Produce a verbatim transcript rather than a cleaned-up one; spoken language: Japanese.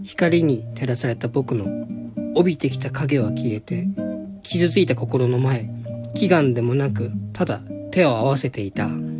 光に照らされた僕の帯びてきた影は消えて、傷ついた心の前、祈願でもなく、ただ手を合わせていた。